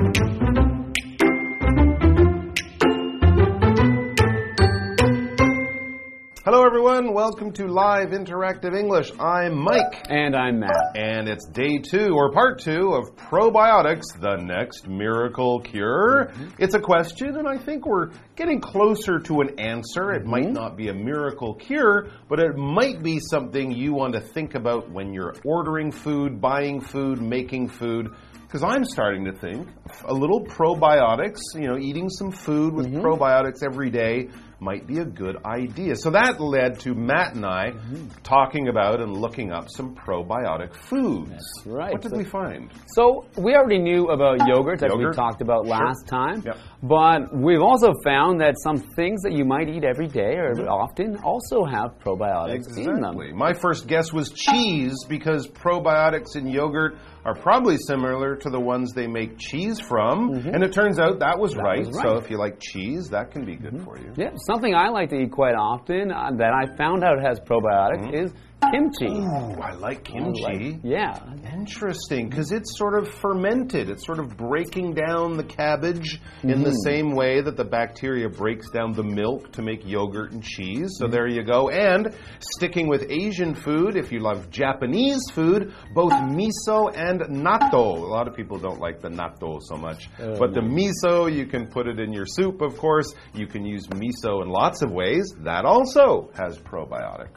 Hello everyone, welcome to Live Interactive English. I'm Mike. And I'm Matt. And it's day 2, or part 2, of Probiotics, the Next Miracle Cure. It's a question, and I think we're getting closer to an answer. It might not be a miracle cure, but it might be something you want to think about when you're ordering food, buying food, making food. Because I'm starting to think a little probiotics, eating some food with probiotics every day might be a good idea. So that led to Matt and I talking about and looking up some probiotic foods. That's right. What did we find? So we already knew about yogurt, as we talked about last time. Yep. But we've also found that some things that you might eat every day or often also have probiotics in them. My first guess was cheese, because probiotics in yogurt are probably similar to the ones they make cheese from. And it turns out that was right. So if you like cheese, that can be good for you. Yeah, something I like to eat quite often that I found out has probiotics is kimchi. Ooh, I like kimchi. Yeah. Interesting, because it's sort of fermented. It's sort of breaking down the cabbage in the same way that the bacteria breaks down the milk to make yogurt and cheese. So there you go. And sticking with Asian food, if you love Japanese food, both miso and natto. A lot of people don't like the natto so much. But the miso, you can put it in your soup, of course. You can use miso in lots of ways. That also has probiotics.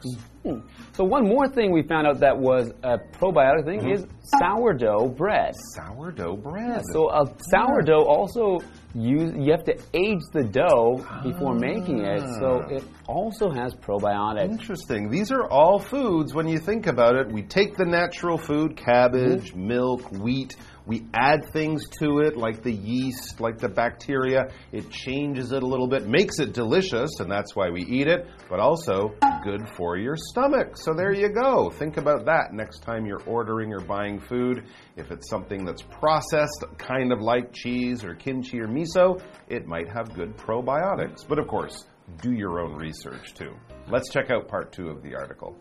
So one more thing we found out that was a probiotic thing is sourdough bread. Sourdough bread. Yeah, so a sourdough also, you have to age the dough before making it, so it also has probiotics. Interesting. These are all foods, when you think about it. We take the natural food, cabbage, milk, wheat. We add things to it, like the yeast, like the bacteria. It changes it a little bit, makes it delicious, and that's why we eat it, but also good for your stomach. So there you go. Think about that next time you're ordering or buying food. If it's something that's processed, kind of like cheese or kimchi or miso, it might have good probiotics. But of course, do your own research too. Let's check out part 2 of the article.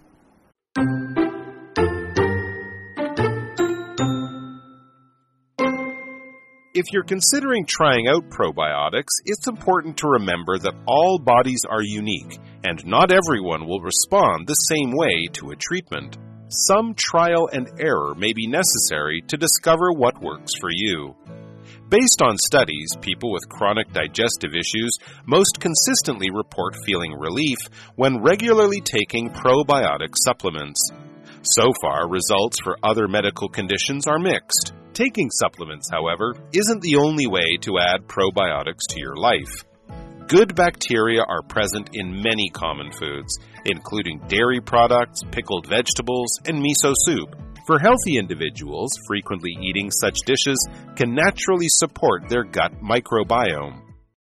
If you're considering trying out probiotics, it's important to remember that all bodies are unique, and not everyone will respond the same way to a treatment. Some trial and error may be necessary to discover what works for you. Based on studies, people with chronic digestive issues most consistently report feeling relief when regularly taking probiotic supplements. So far, results for other medical conditions are mixed. Taking supplements, however, isn't the only way to add probiotics to your life. Good bacteria are present in many common foods, including dairy products, pickled vegetables, and miso soup. For healthy individuals, frequently eating such dishes can naturally support their gut microbiome.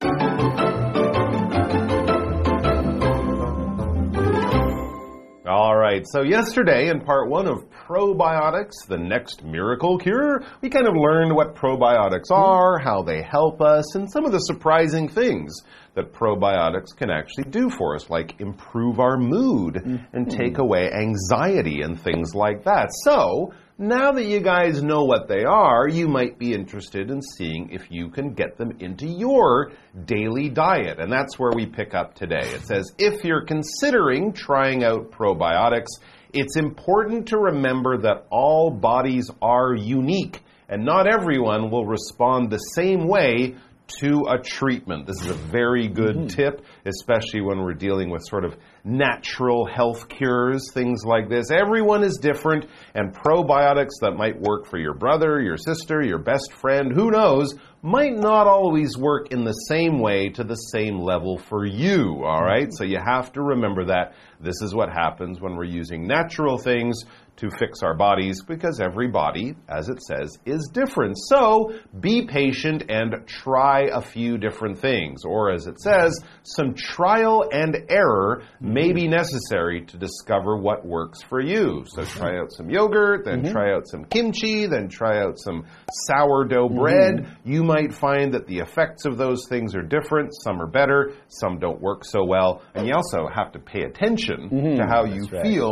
All right, so yesterday in part 1 of Probiotics, the Next Miracle Cure, we kind of learned what probiotics are, how they help us, and some of the surprising things that probiotics can actually do for us, like improve our mood and take away anxiety and things like that. So, now that you guys know what they are, you might be interested in seeing if you can get them into your daily diet. And that's where we pick up today. It says, if you're considering trying out probiotics, it's important to remember that all bodies are unique, and not everyone will respond the same way to a treatment. This is a very good tip, especially when we're dealing with sort of natural health cures, things like this. Everyone is different, and probiotics that might work for your brother, your sister, your best friend, who knows, might not always work in the same way to the same level for you, all right? So you have to remember that. This is what happens when we're using natural things to fix our bodies, because every body, as it says, is different. So be patient and try a few different things. Or as it says, some trial and error may be necessary to discover what works for you. So try out some yogurt, then try out some kimchi, then try out some sourdough bread. You might find that the effects of those things are different. Some are better, some don't work so well. And you also have to pay attention to how you feel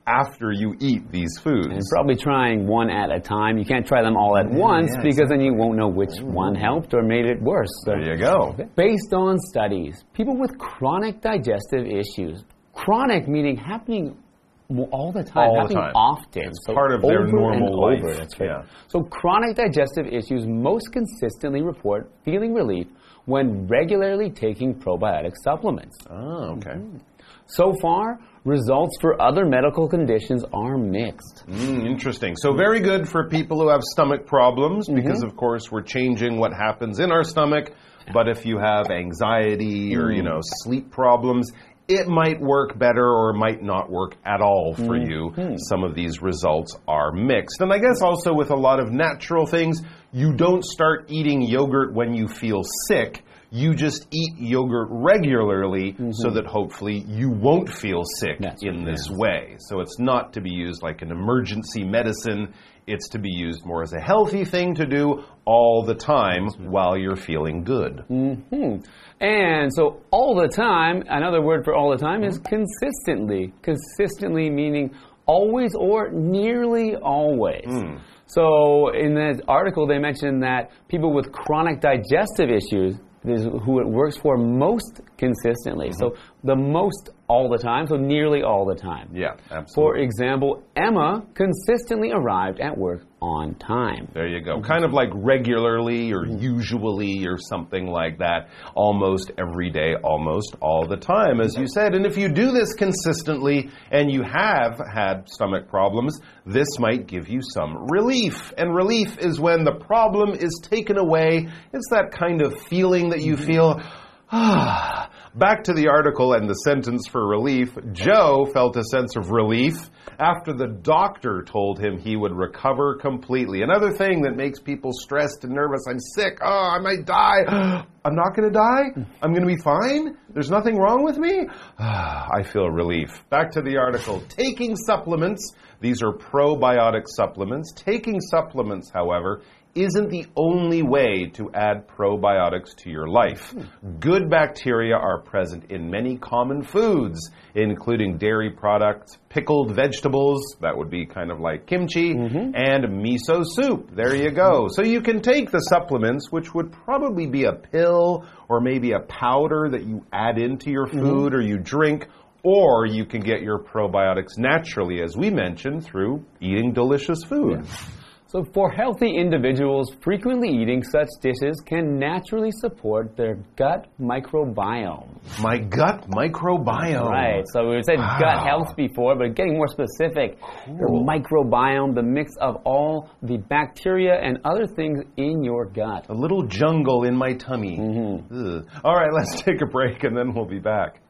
after you eat these foods. And probably trying one at a time. You can't try them all at once because then you won't know which one helped or made it worse. So, there you go. Based on studies, people with chronic digestive issues, chronic meaning happening all the time, happening often. It's part of their normal life. That's right. So chronic digestive issues most consistently report feeling relief when regularly taking probiotic supplements. Oh, okay. So far, results for other medical conditions are mixed. Interesting. So very good for people who have stomach problems because, of course, we're changing what happens in our stomach. But if you have anxiety or, sleep problems, it might work better or might not work at all for you. Some of these results are mixed. And I guess also with a lot of natural things, you don't start eating yogurt when you feel sick. You just eat yogurt regularly so that hopefully you won't feel sick in this way. So it's not to be used like an emergency medicine. It's to be used more as a healthy thing to do all the time while you're feeling good. And so all the time, another word for all the time is consistently. Consistently meaning always or nearly always. So in this article, they mentioned that people with chronic digestive issues is who it works for most consistently. So the most all the time, so nearly all the time. Yeah, absolutely. For example, Emma consistently arrived at work on time. There you go. Kind of like regularly or usually or something like that. Almost every day, almost all the time, as you said. And if you do this consistently and you have had stomach problems, this might give you some relief. And relief is when the problem is taken away. It's that kind of feeling that you feel, Back to the article and the sentence for relief. Joe felt a sense of relief after the doctor told him he would recover completely. Another thing that makes people stressed and nervous. I'm sick. Oh, I might die. I'm not going to die. I'm going to be fine. There's nothing wrong with me. I feel relief. Back to the article. Taking supplements. These are probiotic supplements. Taking supplements, however, isn't the only way to add probiotics to your life. Good bacteria are present in many common foods, including dairy products, pickled vegetables, that would be kind of like kimchi, and miso soup. There you go. So you can take the supplements, which would probably be a pill or maybe a powder that you add into your food or you drink, or you can get your probiotics naturally, as we mentioned, through eating delicious food. So for healthy individuals, frequently eating such dishes can naturally support their gut microbiome. My gut microbiome. Right. So we said gut health before, but getting more specific, your microbiome, the mix of all the bacteria and other things in your gut. A little jungle in my tummy. All right, let's take a break and then we'll be back.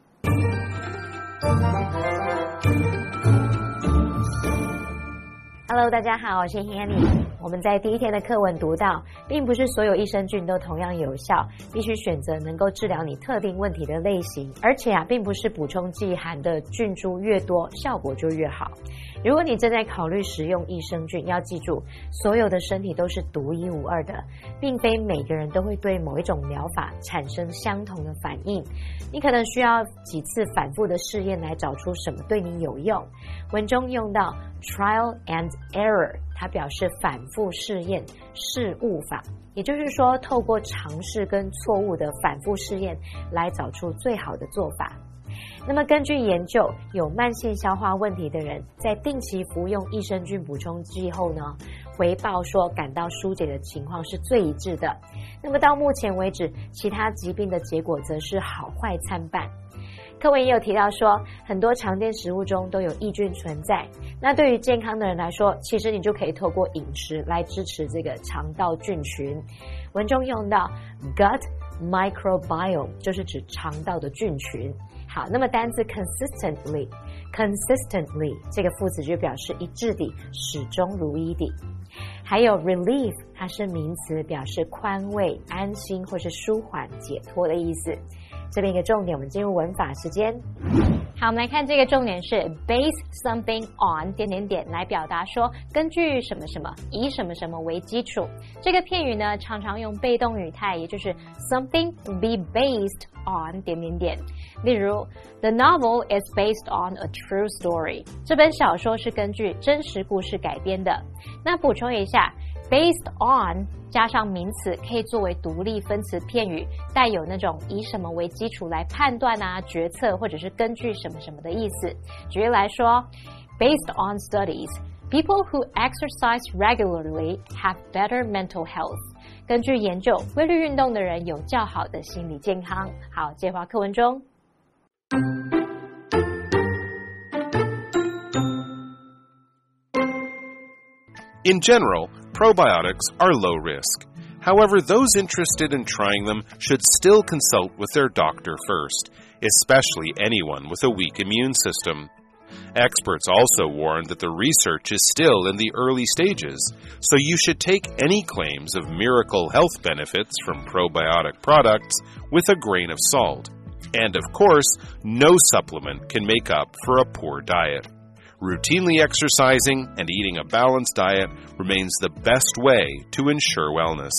Hello， 大家好，我是 Hanny。我们在第一天的課文讀到，並不是所有益生菌都同樣有效，必須選擇能夠治療你特定問題的類型。而且並不是補充劑含的菌株越多，效果就越好。如果你正在考慮使用益生菌，要記住，所有的身體都是獨一無二的，並非每個人都會對某一種療法產生相同的反應。你可能需要幾次反覆的試驗來找出什麼對你有用。文中用到 trial and error， 它表示反覆試驗試誤法，也就是說透過嘗試跟錯誤的反覆試驗來找出最好的做法。那麼根據研究，有慢性消化問題的人在定期服用益生菌補充劑後呢，回報說感到疏解的情況是最一致的。那麼到目前為止，其他疾病的結果則是好壞參半。課文也有提到說，很多常見食物中都有益菌存在。那對於健康的人來說，其實你就可以透過飲食來支持這個腸道菌群。文中用到 gut microbiome， 就是指腸道的菌群。好，那麼單字 consistently 這個副詞就表示一致地、始終如一地。還有 relief， 它是名詞，表示寬慰、安心或是舒緩、解脫的意思。這邊一個重點，我們進入文法時間。 好，我们来看这个重點是 base something on 點點點來表達說根據什麼什麼，以什麼什麼為基礎。這個片語呢，常常用被動語態，也就是 something be based on 點點點。例如 The novel is based on a true story。這本小說是根據真實故事改編的。那補充一下 based on 加上名詞可以作為獨立分詞片語，帶有那種以什麼為基礎來判斷啊、決策或者是根據什麼什麼的意思。舉例來說 Based on studies, people who exercise regularly have better mental health。根據研究，規律運動的人有較好的心理健康。好，接話課文中。 In general, probiotics are low risk. However, those interested in trying them should still consult with their doctor first, especially anyone with a weak immune system. Experts also warn that the research is still in the early stages, so you should take any claims of miracle health benefits from probiotic products with a grain of salt. And of course, no supplement can make up for a poor diet. Routinely exercising and eating a balanced diet remains the best way to ensure wellness.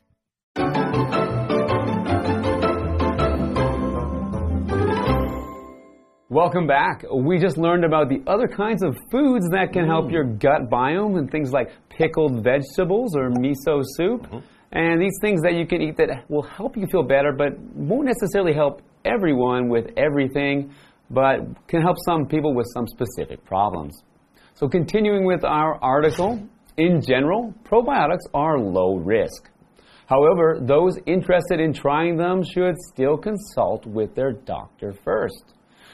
Welcome back. We just learned about the other kinds of foods that can help your gut biome and things like pickled vegetables or miso soup. And these things that you can eat that will help you feel better but won't necessarily help everyone with everything, but can help some people with some specific problems. So continuing with our article, in general, probiotics are low risk. However, those interested in trying them should still consult with their doctor first,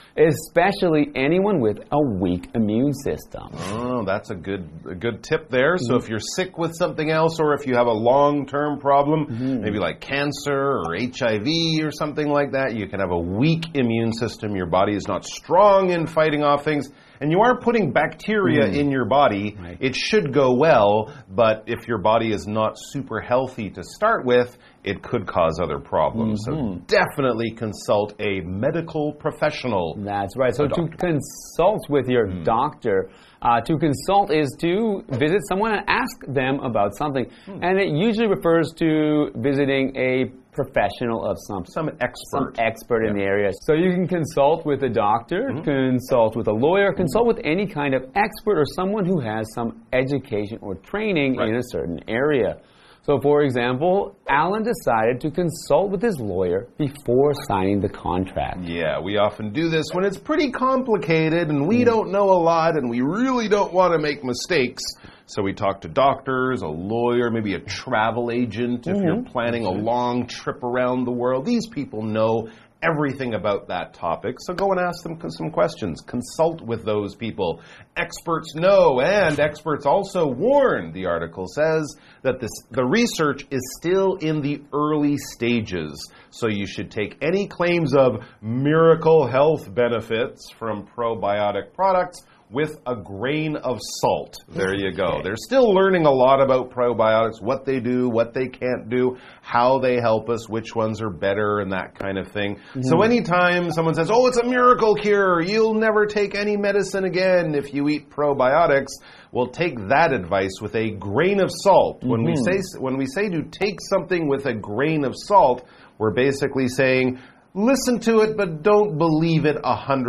especially anyone with a weak immune system. Oh, that's a good tip there. So if you're sick with something else, or if you have a long-term problem, maybe like cancer or HIV or something like that, you can have a weak immune system. Your body is not strong in fighting off things, and you are putting bacteria in your body. Right. It should go well, but if your body is not super healthy to start with, it could cause other problems. So definitely consult a medical professional. That's right. So to consult with your doctor, to consult is to visit someone and ask them about something. And it usually refers to visiting a professional of some expert in the area. So you can consult with a doctor, consult with a lawyer, consult with any kind of expert or someone who has some education or training in a certain area. So, for example, Alan decided to consult with his lawyer before signing the contract. Yeah, we often do this when it's pretty complicated and we don't know a lot and we really don't want to make mistakes. So we talk to doctors, a lawyer, maybe a travel agent if you're planning a long trip around the world. These people know everything about that topic, so go and ask them some questions. Consult with those people. Experts know, and experts also warn, the article says, that the research is still in the early stages, so you should take any claims of miracle health benefits from probiotic products with a grain of salt. There you go. They're still learning a lot about probiotics, what they do, what they can't do, how they help us, which ones are better, and that kind of thing. So anytime someone says, oh, it's a miracle cure, you'll never take any medicine again if you eat probiotics, we'll take that advice with a grain of salt. When we say to take something with a grain of salt, we're basically saying, listen to it, but don't believe it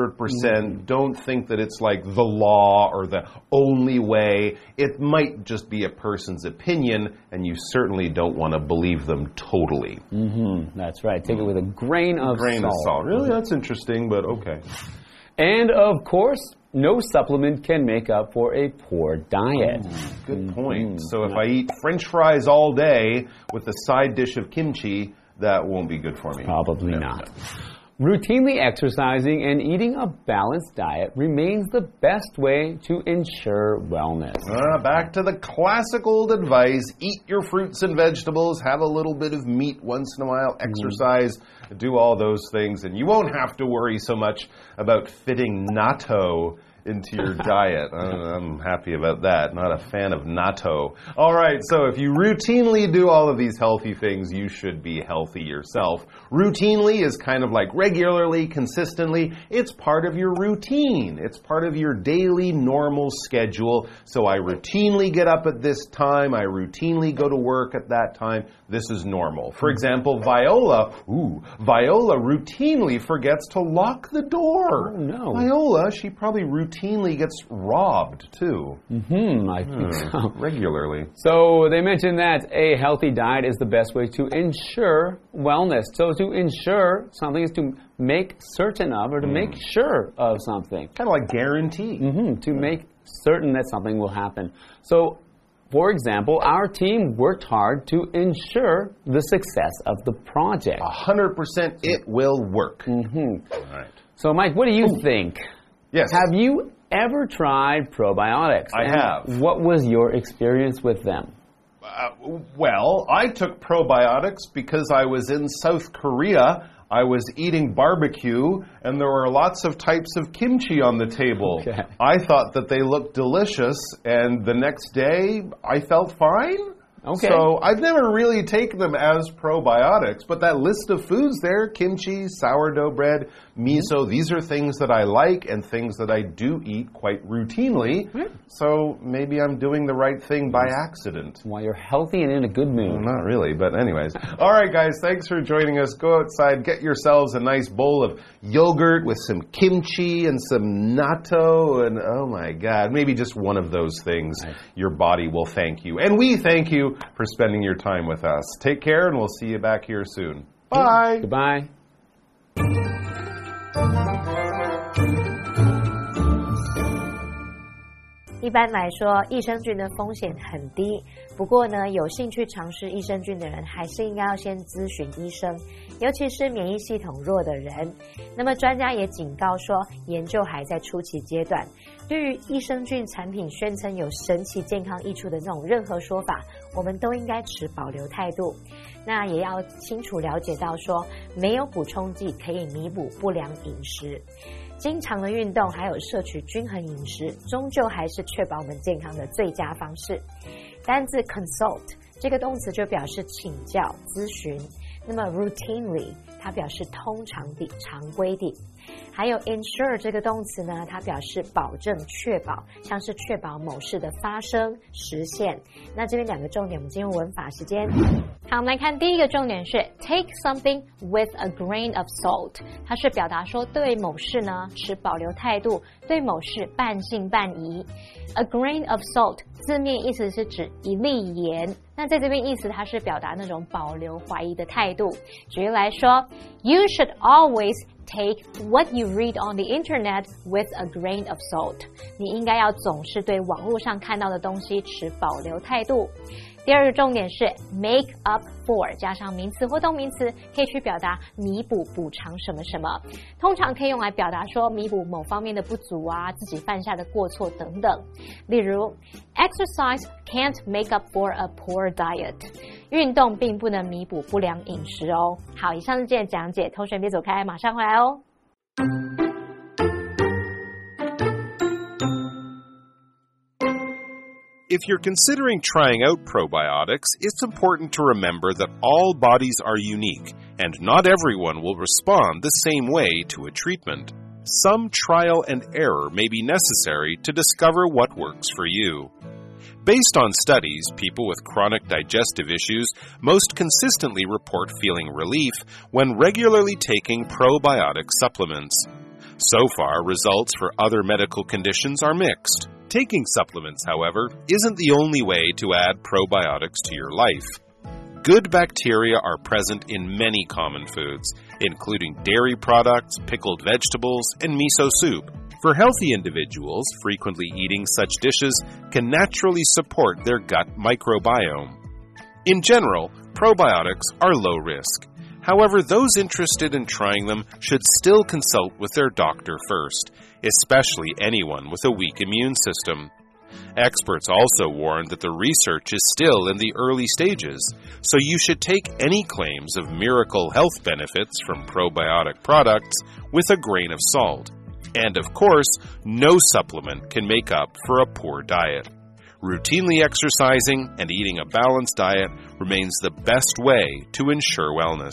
100%. Don't think that it's like the law or the only way. It might just be a person's opinion, and you certainly don't want to believe them totally. That's right. Take it with a grain of salt. Really? That's interesting, but okay. And of course, no supplement can make up for a poor diet. Good point. So if I eat French fries all day with a side dish of kimchi, that won't be good for me. Probably not. Routinely exercising and eating a balanced diet remains the best way to ensure wellness. Back to the classic old advice. Eat your fruits and vegetables, have a little bit of meat once in a while, exercise, do all those things, and you won't have to worry so much about fitting natto into your diet. I'm happy about that. Not a fan of natto. All right, so if you routinely do all of these healthy things, you should be healthy yourself. Routinely is kind of like regularly, consistently. It's part of your routine. It's part of your daily normal schedule. So I routinely get up at this time. I routinely go to work at that time. This is normal. For example, Viola routinely forgets to lock the door. Oh, no. Viola, she probably routinely gets robbed, too. I think so. Regularly. So they mentioned that a healthy diet is the best way to ensure wellness. So to ensure something is to make certain of or to make sure of something. Kind of like guarantee. To make certain that something will happen. So, for example, our team worked hard to ensure the success of the project. 100% it will work. All right. So, Mike, what do you think? Yes. Have you ever tried probiotics? I have. What was your experience with them? Well, I took probiotics because I was in South Korea. I was eating barbecue, and there were lots of types of kimchi on the table. Okay. I thought that they looked delicious, and the next day I felt fine. Okay. So I've never really taken them as probiotics, but that list of foods there, kimchi, sourdough bread, miso, these are things that I like and things that I do eat quite routinely. So maybe I'm doing the right thing by accident. While you're healthy and in a good mood. Well, not really, but anyways. All right, guys, thanks for joining us. Go outside, get yourselves a nice bowl of yogurt with some kimchi and some natto, and oh my God, maybe just one of those things. Your body will thank you. And we thank you for spending your time with us. Take care, and we'll see you back here soon. Bye. Goodbye. 一般来说，益生菌的风险很低。不过呢，有兴趣尝試益生菌的人，還是應該要先諮詢醫生，尤其是免疫系統弱的人。那麼專家也警告說，研究還在初期階段。對於益生菌產品宣稱有神奇健康益處的這種任何說法，我們都應該持保留態度。那也要清楚了解到說，沒有補充劑可以彌補不良飲食。經常的運動還有攝取均衡飲食，終究還是確保我們健康的最佳方式。單字 consult 這個動詞就表示請教、諮詢。那麼 routinely 它表示通常地、常規地。還有 ensure 這個動詞呢，它表示保證、確保，像是確保某事的發生、實現。那這邊兩個重點，我們進入文法時間。好，我們來看第一個重點是 take something with a grain of salt， 它是表達說對某事呢持保留態度，對某事半信半疑。A grain of salt 字面意思是指一粒鹽，那在這邊意思它是表達那種保留懷疑的態度。舉例來說 ，You should always take what you read on the internet with a grain of salt。你應該要總是對網絡上看到的東西持保留態度。第二個重點是 make up for 加上名詞或動名詞，可以去表達彌補、補償什麼什麼，通常可以用來表達說彌補某方面的不足啊，自己犯下的過錯等等。例如 exercise can't make up for a poor diet， 運動並不能彌補不良飲食哦。好，以上是今天的講解，同學別走開，馬上回來哦。 If you're considering trying out probiotics, it's important to remember that all bodies are unique, and not everyone will respond the same way to a treatment. Some trial and error may be necessary to discover what works for you. Based on studies, people with chronic digestive issues most consistently report feeling relief when regularly taking probiotic supplements. So far, results for other medical conditions are mixed. Taking supplements, however, isn't the only way to add probiotics to your life. Good bacteria are present in many common foods, including dairy products, pickled vegetables, and miso soup. For healthy individuals, frequently eating such dishes can naturally support their gut microbiome. In general, probiotics are low risk. However, those interested in trying them should still consult with their doctor first, especially anyone with a weak immune system. Experts also warn that the research is still in the early stages, so you should take any claims of miracle health benefits from probiotic products with a grain of salt. And of course, no supplement can make up for a poor diet. Routinely exercising and eating a balanced diet remains the best way to ensure wellness.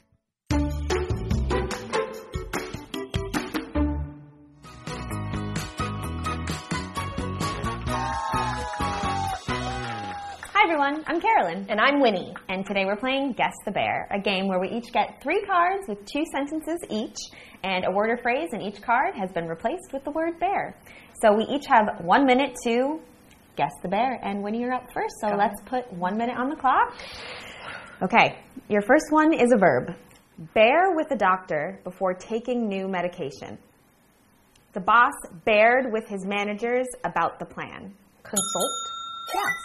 Hi everyone, I'm Carolyn. And I'm Winnie. And today we're playing Guess the Bear, a game where we each get 3 cards with 2 sentences each, and a word or phrase in each card has been replaced with the word bear. So we each have 1 minute to guess the bear. And Winnie, you're up first, so let's put 1 minute on the clock. Okay, your first one is a verb. Bear with the doctor before taking new medication. The boss bared with his managers about the plan. Consult. Yes.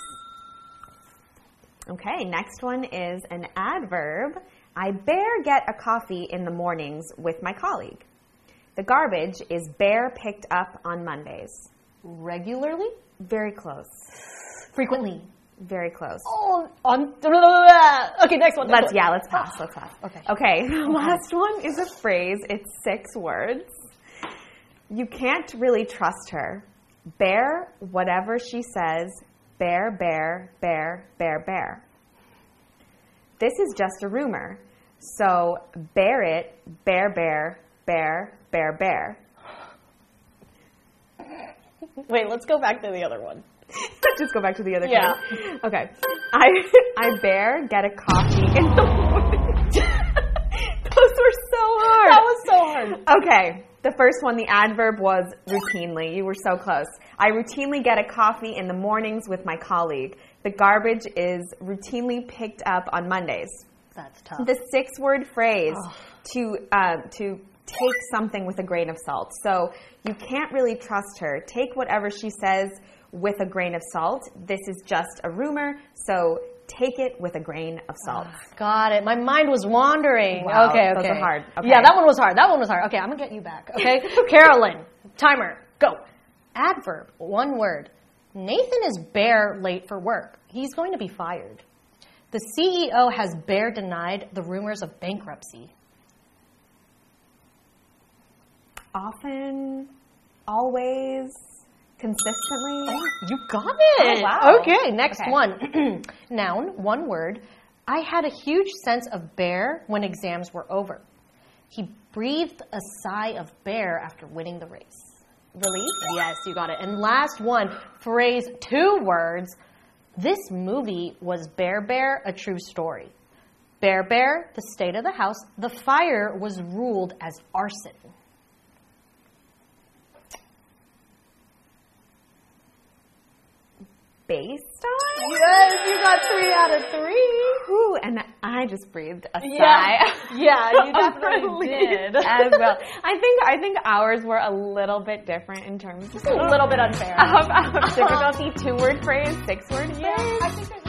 Okay, next one is an adverb. I bear get a coffee in the mornings with my colleague. The garbage is bear picked up on Mondays. Regularly? Very close. Frequently? Very close. Oh, on. Okay, next one. Let's pass. Okay. Okay, the last one is a phrase. It's 6 words. You can't really trust her. Bear whatever she says. Bear, bear, bear, bear, bear. This is just a rumor. So bear it, bear, bear, bear, bear, bear. Wait, let's go back to the other one. Let's just go back to the other Yeah. card. Okay. I bear get a coffee in the morning. Those were so hard. That was so hard. Okay. The first one, the adverb was routinely. You were so close. I routinely get a coffee in the mornings with my colleague. The garbage is routinely picked up on Mondays. That's tough. The 6-word phrase to take something with a grain of salt. So you can't really trust her. Take whatever she says with a grain of salt. This is just a rumor, so take it with a grain of salt. Got it. My mind was wandering. Wow, okay. those are hard. Okay. Yeah, that one was hard. Okay, I'm going to get you back. Okay? Carolyn, timer, go. Adverb, 1 word. Nathan is bare late for work. He's going to be fired. The CEO has bare denied the rumors of bankruptcy. Often, always, consistently. You got it. Oh, wow. Okay, next one. Noun, 1 word. I had a huge sense of bear when exams were over. He breathed a sigh of bear after winning the race. Relief? Yes, you got it. And last one, phrase, 2 words. This movie was Bear Bear, a true story. Bear Bear, the state of the house. The fire was ruled as arson. Based on? Yes, you got 3 out of 3. Ooh, and I just breathed a sigh. Yeah, you definitely did. As well. I think ours were a little bit different in terms Just a little bit unfair. of difficulty. 2-word phrase, 6-word phrase. I think there's